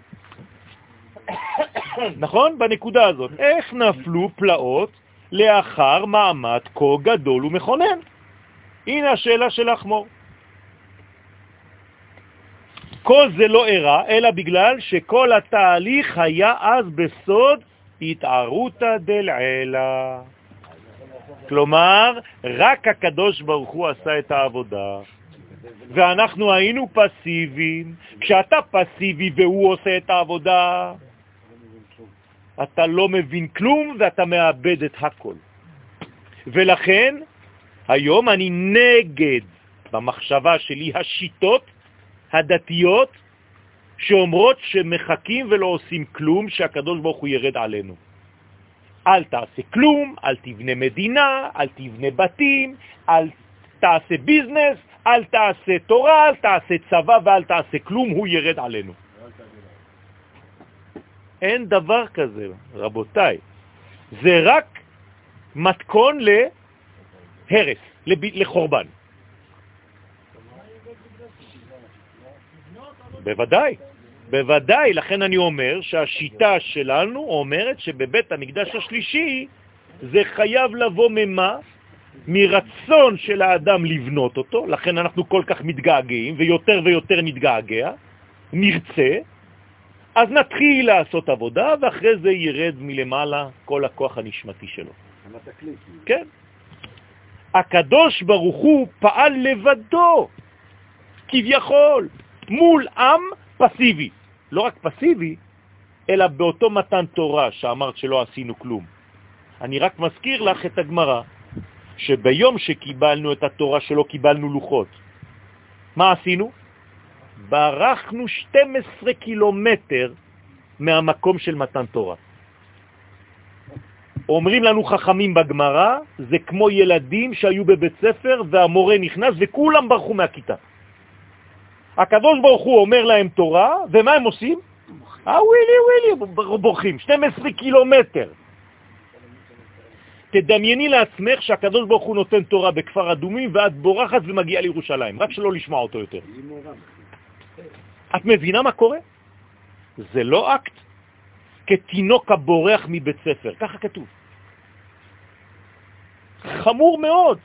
נכון? בנקודה הזאת. איך נפלו פלאות לאחר מעמד כה גדול ומכונן? הנה השאלה של החמור. כל זה לא אירע, אלא בגלל שכל התהליך היה אז בסוד התערותא דלעילא. כלומר, רק הקדוש ברוך הוא עשה את העבודה, ואנחנו היינו פסיביים. כשאתה פסיבי והוא עושה את העבודה, אתה לא מבין כלום ואתה מאבד את הכל. ולכן, היום אני נגד במחשבה שלי השיטות הדתיות שאומרות שמחכים ולא עושים כלום, שהקדוש ברוך הוא ירד עלינו. אל תעשה כלום, אל תבנה מדינה, אל תבנה בתים, אל תעשה ביזנס, אל תעשה תורה, אל תעשה צבא ואל תעשה כלום, הוא ירד עלינו. אין דבר כזה, רבותיי. זה רק מתכון להרס, לחורבן. בוודאי, בוודאי. לכן אני אומר שהשיטה שלנו אומרת שבבית המקדש השלישי זה חייב לבוא ממה? מרצון של האדם לבנות אותו. לכן אנחנו כל כך מתגעגעים ויותר ויותר נתגעגע, נרצה, אז נתחיל לעשות עבודה ואחרי זה ירד מלמעלה כל הכוח הנשמתי שלו. כן. הקדוש ברוך הוא פעל לבדו, כביכול, מול עם פסיבי. לא רק פסיבי, אלא באותו מתן תורה שאמרת שלא עשינו כלום. אני רק מזכיר לך את הגמרא, שביום שקיבלנו את התורה שלא קיבלנו לוחות, מה עשינו? ברחנו שנים עשר קילומטר מהמקום של מתן תורה. אומרים לנו חכמים בגמרא, זה כמו ילדים שהיו בבית ספר והמורה נכנס וכולם ברחו מהכיתה. הקדוש ברוך הוא אומר להם תורה, ומה הם עושים? אה, ווילי, ווילי, בורחים, שנים עשר קילומטר. תדמייני לעצמך שהקדוש ברוך הוא נותן תורה בכפר אדומים, ואת בורחת ומגיעה לירושלים, רק שלא לשמוע אותו יותר. את מבינה מה קורה? זה לא אקט כתינוק הבורח מבית ספר, ככה כתוב. חמור מאוד.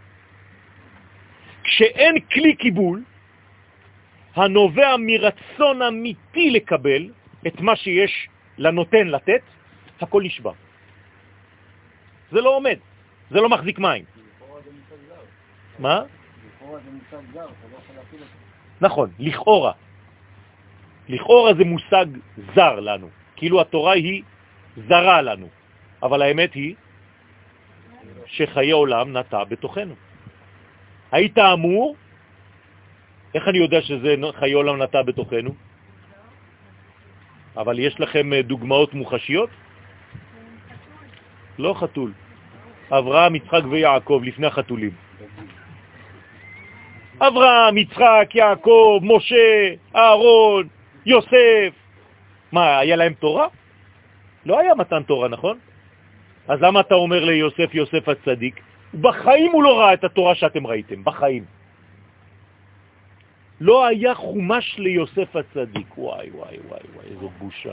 כשאין כלי קיבול, הנובע מרצון אמיתי לקבל את מה שיש לנותן לתת, הכל נשבע. זה לא עומד, זה לא מחזיק מים. מה? נכון, לכאורה. לכאורה זה מושג זר לנו, כאילו התורה היא זרה לנו, אבל האמת היא שחיי עולם נטע בתוכנו. היית אמור, איך אני יודע שזה חיי עולם נטע בתוכנו? אבל יש לכם דוגמאות מוחשיות? לא חתול. אברהם, יצחק ויעקב לפני החתולים. אברהם, יצחק, יעקב, משה, אהרון, יוסף. מה, היה להם תורה? לא היה מתן תורה, נכון? אז למה אתה אומר ליוסף, יוסף הצדיק? בחיים הוא לא ראה את התורה שאתם ראיתם, בחיים. לא היה חומש ליוסף הצדיק. וואי, וואי, וואי, וואי, איזו בושה.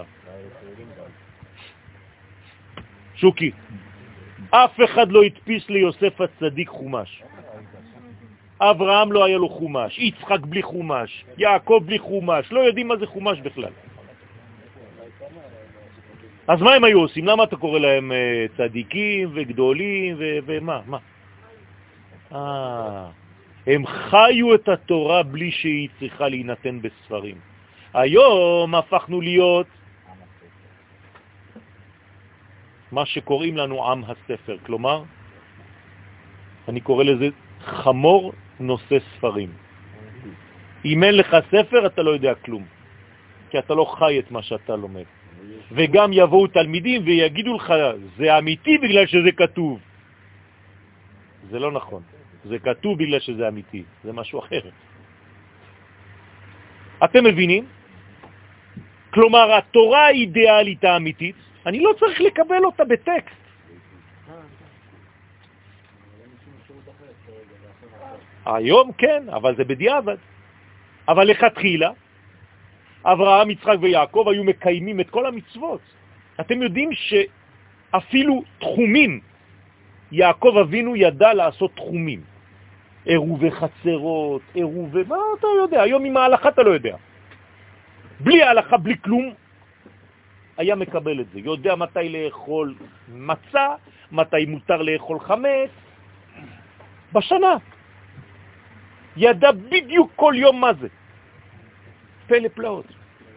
שוקי, אף אחד לא הדפיס ליוסף הצדיק חומש. אברהם לא היה לו חומש, יצחק בלי חומש, יעקב בלי חומש, לא יודעים מה זה חומש בכלל. אז מה הם היו עושים? למה אתה קורא להם uh, צדיקים וגדולים ו- ומה? מה? אה, הם חיו את התורה בלי שהיא צריכה להינתן בספרים. היום הפכנו להיות מה שקוראים לנו עם הספר, כלומר אני קורא לזה חמור נושא ספרים. אם אין לך ספר, אתה לא יודע כלום, כי אתה לא חי את מה שאתה לומד. וגם יבואו תלמידים ויגידו לך, זה אמיתי בגלל שזה כתוב. זה לא נכון. זה כתוב בגלל שזה אמיתי. זה משהו אחר. אתם מבינים? כלומר, התורה האידיאלית האמיתית, אני לא צריך לקבל אותה בטקסט. היום כן, אבל זה בדיעבד. אבל לכתחילה, אברהם, יצחק ויעקב היו מקיימים את כל המצוות. אתם יודעים שאפילו תחומים, יעקב אבינו ידע לעשות תחומים. עירובי חצרות, עירובי, מה אתה יודע? היום עם ההלכה אתה לא יודע. בלי ההלכה, בלי כלום, היה מקבל את זה. יודע מתי לאכול מצה, מתי מותר לאכול חמץ. בשנה. ידע בדיוק כל יום מה זה. פלא פלאות.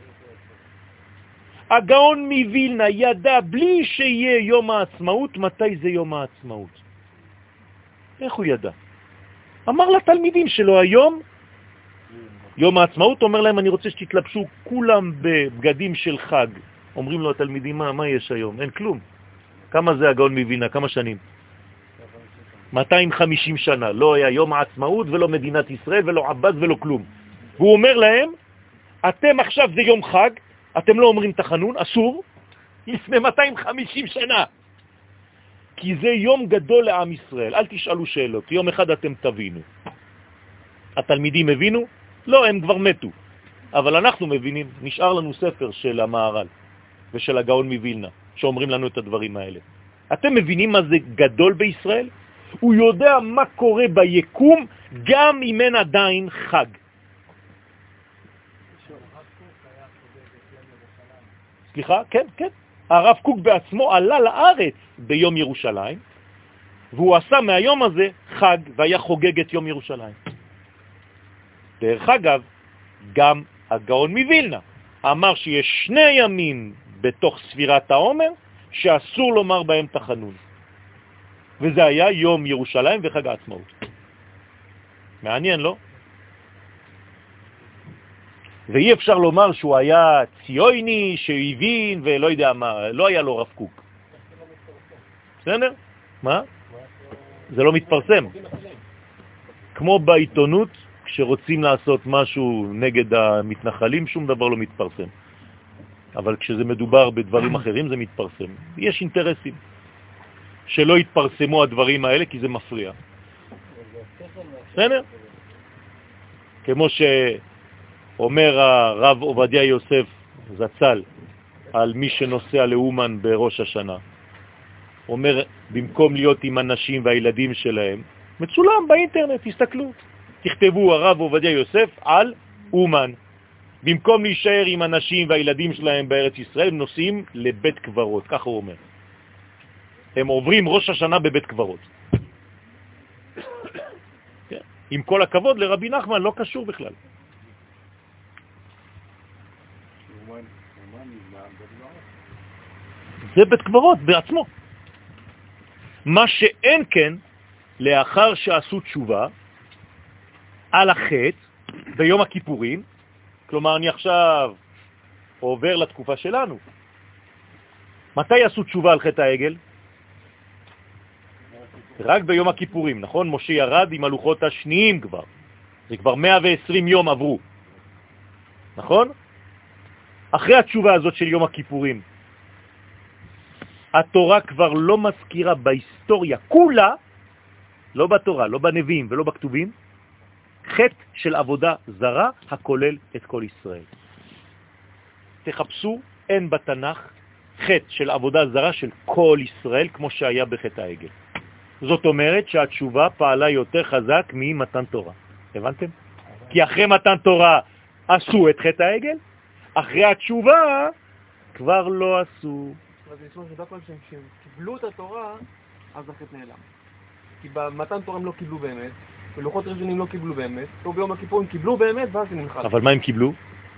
הגאון מווילנה ידע בלי שיהיה יום העצמאות, מתי זה יום העצמאות. איך הוא ידע? אמר לתלמידים שלו היום, יום העצמאות, אומר להם, אני רוצה שתתלבשו כולם בבגדים של חג. אומרים לו התלמידים, מה, מה יש היום? אין כלום. כמה זה הגאון מווילנה? כמה שנים? מאתיים וחמישים שנה. לא היה יום העצמאות ולא מדינת ישראל ולא עבד ולא כלום. והוא אומר להם, אתם עכשיו זה יום חג, אתם לא אומרים תחנון, אסור, לפני מאתיים וחמישים שנה. כי זה יום גדול לעם ישראל. אל תשאלו שאלות, יום אחד אתם תבינו. התלמידים הבינו? לא, הם כבר מתו. אבל אנחנו מבינים, נשאר לנו ספר של המהר"ל ושל הגאון מווילנה, שאומרים לנו את הדברים האלה. אתם מבינים מה זה גדול בישראל? הוא יודע מה קורה ביקום, גם אם אין עדיין חג. סליחה? כן, כן. הרב קוק בעצמו עלה לארץ ביום ירושלים, והוא עשה מהיום הזה חג, והיה חוגג את יום ירושלים. דרך אגב, גם הגאון מווילנה אמר שיש שני ימים בתוך ספירת העומר, שאסור לומר בהם תחנון. וזה היה יום ירושלים וחג העצמאות. מעניין, לא? ואי אפשר לומר שהוא היה ציוני, שהבין ולא יודע מה, לא היה לו רב קוק. בסדר? מה? זה לא מתפרסם. כמו בעיתונות, כשרוצים לעשות משהו נגד המתנחלים, שום דבר לא מתפרסם. אבל כשזה מדובר בדברים אחרים, זה מתפרסם. יש אינטרסים שלא יתפרסמו הדברים האלה, כי זה מפריע. בסדר? כמו ש... אומר הרב עובדיה יוסף זצ"ל על מי שנוסע לאומן בראש השנה. אומר, במקום להיות עם אנשים והילדים שלהם, מצולם באינטרנט, תסתכלו. תכתבו הרב עובדיה יוסף על אומן. במקום להישאר עם אנשים והילדים שלהם בארץ ישראל, הם נוסעים לבית קברות, ככה הוא אומר. הם עוברים ראש השנה בבית קברות. עם כל הכבוד לרבי נחמן, לא קשור בכלל. זה בית קברות בעצמו. מה שאין כן, לאחר שעשו תשובה על החטא ביום הכיפורים, כלומר אני עכשיו עובר לתקופה שלנו. מתי עשו תשובה על חטא העגל? רק ביום הכיפורים, נכון? משה ירד עם הלוחות השניים כבר. זה כבר מאה ועשרים יום עברו. נכון? אחרי התשובה הזאת של יום הכיפורים, התורה כבר לא מזכירה בהיסטוריה כולה, לא בתורה, לא בנביאים ולא בכתובים, חטא של עבודה זרה הכולל את כל ישראל. תחפשו, אין בתנ"ך חטא של עבודה זרה של כל ישראל כמו שהיה בחטא העגל. זאת אומרת שהתשובה פעלה יותר חזק ממתן תורה. הבנתם? כי אחרי מתן תורה עשו את חטא העגל, אחרי התשובה כבר לא עשו. אז נשמע שדווקא כשהם קיבלו את התורה, אז החטא נעלם. כי במתן תורה הם לא קיבלו באמת, ולוחות ראשונים לא קיבלו באמת, פה ביום הכיפור הם קיבלו באמת, ואז הם נמחל. אבל מה הם קיבלו?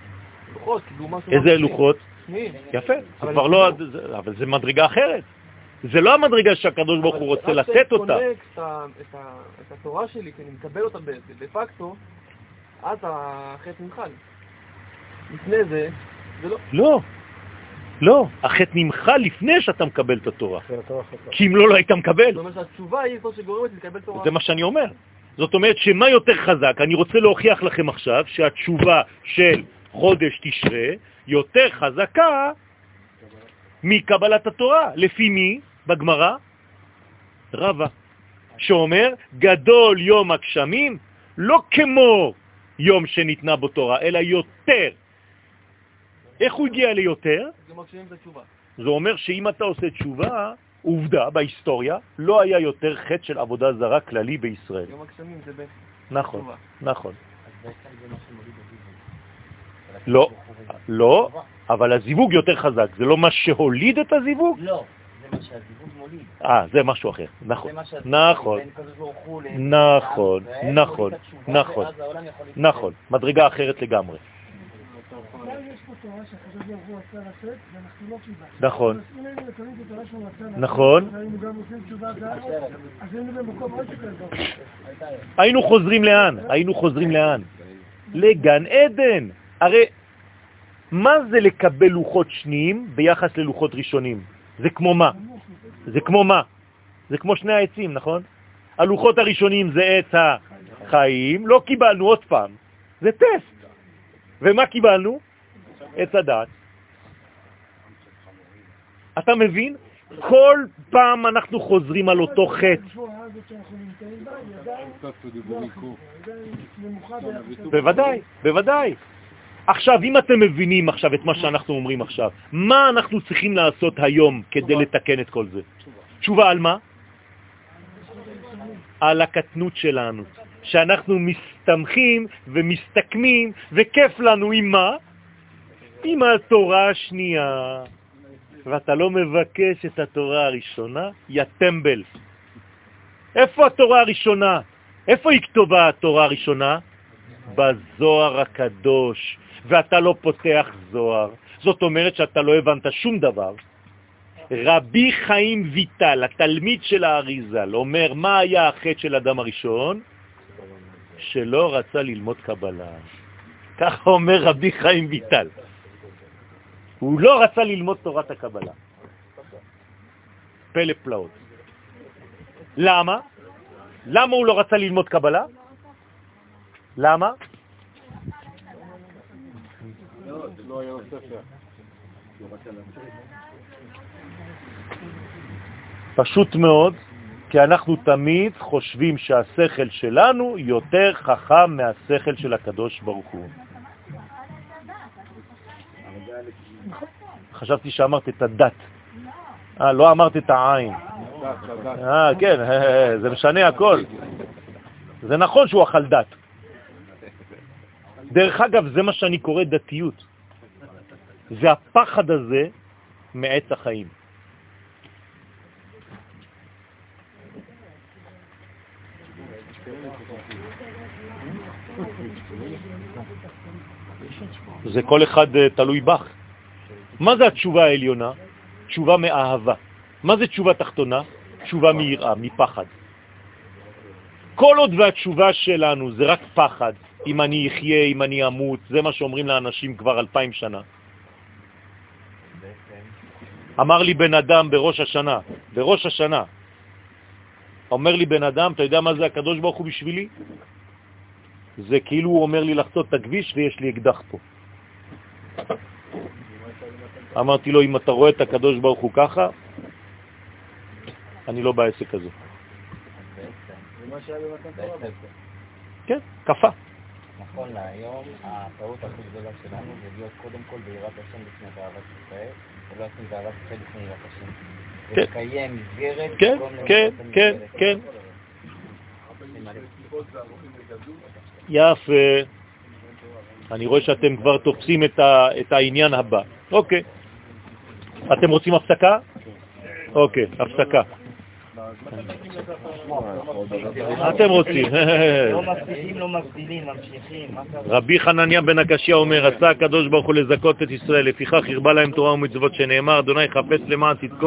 לוחות, קיבלו משהו... איזה לוחות? שניים. יפה, זה כבר לא... אבל זה מדרגה אחרת. זה לא המדרגה שהקדוש ברוך הוא רוצה לתת אותה. רק כשקונקט את התורה שלי, כי אני מקבל אותה בפקטו, אז החטא נמחל. לפני זה, זה לא. לא, לא. החטא נמחל לפני שאתה מקבל את התורה. כי אם לא, לא היית מקבל. זאת אומרת שהתשובה היא זאת שגורמת לקבל תורה. זה מה שאני אומר. זאת אומרת שמה יותר חזק? אני רוצה להוכיח לכם עכשיו שהתשובה של חודש תשרה יותר חזקה מקבלת התורה. לפי מי? בגמרא? רבא. שאומר, גדול יום הגשמים, לא כמו יום שניתנה בו תורה, אלא יותר. איך הוא הגיע ליותר? זה מגשימים את התשובה. זה אומר שאם אתה עושה תשובה, עובדה בהיסטוריה, לא היה יותר חטא של עבודה זרה כללי בישראל. יום הגשמים זה ב... נכון, תשובה. נכון. אז בעצם זה מה שמוליד הזיווג. לא, לא, אבל הזיווג יותר חזק. זה לא מה שהוליד את הזיווג? לא, זה מה שהזיווג מוליד. אה, זה משהו אחר. נכון, זה מה שהזיווג נכון, בין הקדוש ברוך הוא ל- נכון, לעם ישראל, נכון, מוליד את התשובה, נכון, ואז העולם יכול להתקדם. נכון. מדרגה אחרת לגמרי. אבל יש פה תורה שהקדוש ברוך הוא רצה לתת, ואנחנו לא קיבלנו. נכון. אז אם היינו מקבלים את התורה שהוא רצה לתת, נכון. והיינו גם עושים תשובה בארץ, אז היינו במקום עוד יותר טוב. היינו חוזרים לאן? היינו חוזרים לאן? לגן עדן. הרי מה זה לקבל לוחות שניים ביחס ללוחות ראשונים? זה כמו מה? זה כמו מה? זה כמו שני העצים, נכון? הלוחות הראשונים זה עץ החיים, לא קיבלנו עוד פעם. זה טסט. ומה קיבלנו? עץ הדעת. אתה מבין? כל פעם אנחנו חוזרים על אותו חטא. בוודאי, בוודאי. עכשיו, אם אתם מבינים עכשיו את מה שאנחנו אומרים עכשיו, מה אנחנו צריכים לעשות היום כדי לתקן את כל זה? תשובה על מה? על הקטנות שלנו. שאנחנו מסתמכים ומסתכמים, וכיף לנו עם מה? עם התורה השנייה. ואתה לא מבקש את התורה הראשונה, יא טמבל. איפה התורה הראשונה? איפה היא כתובה התורה הראשונה? בזוהר הקדוש. ואתה לא פותח זוהר. זאת אומרת שאתה לא הבנת שום דבר. רבי חיים ויטל, התלמיד של האריז"ל, אומר מה היה החטא של אדם הראשון? שלא רצה ללמוד קבלה. ככה אומר רבי חיים ויטל. הוא לא רצה ללמוד תורת הקבלה. פלא פלאות. למה? למה הוא לא רצה ללמוד קבלה? למה? פשוט מאוד, כי אנחנו תמיד חושבים שהשכל שלנו יותר חכם מהשכל של הקדוש ברוך הוא. חשבתי שאמרת את הדת. אה, לא אמרת את העין. אה, כן, זה משנה הכל. זה נכון שהוא אכל דת. דרך אגב, זה מה שאני קורא דתיות. זה הפחד הזה מעץ החיים. זה כל אחד תלוי בך. מה זה התשובה העליונה? תשובה מאהבה. מה זה תשובה תחתונה? תשובה מיראה, מפחד. כל עוד והתשובה שלנו זה רק פחד, אם אני אחיה, אם אני אמות, זה מה שאומרים לאנשים כבר אלפיים שנה. אמר לי בן אדם בראש השנה, בראש השנה, אומר לי בן אדם, אתה יודע מה זה הקדוש ברוך הוא בשבילי? זה כאילו הוא אומר לי לחצות את הכביש ויש לי אקדח פה. אמרתי לו, אם אתה רואה את הקדוש ברוך הוא ככה, אני לא בעסק הזה. כן, קפה. נכון להיום, הטעות הכי גדולה שלנו זה להיות קודם כל ביראת השם לפני באהבת ישראל, ולא עושים באהבת ישראל לפני יראת השם. ולקיים מסגרת. כן, כן, כן, כן. יפה. אני רואה שאתם כבר תופסים את העניין הבא. אוקיי. אתם רוצים הפסקה? אוקיי, הפסקה. אתם רוצים. לא מפסיקים, לא מבדילים, ממשיכים. רבי חנניה בן הקשיא אומר, רצה הקדוש ברוך הוא לזכות את ישראל, לפיכך הרבה להם תורה ומצוות שנאמר, אדוני חפץ למען צדקו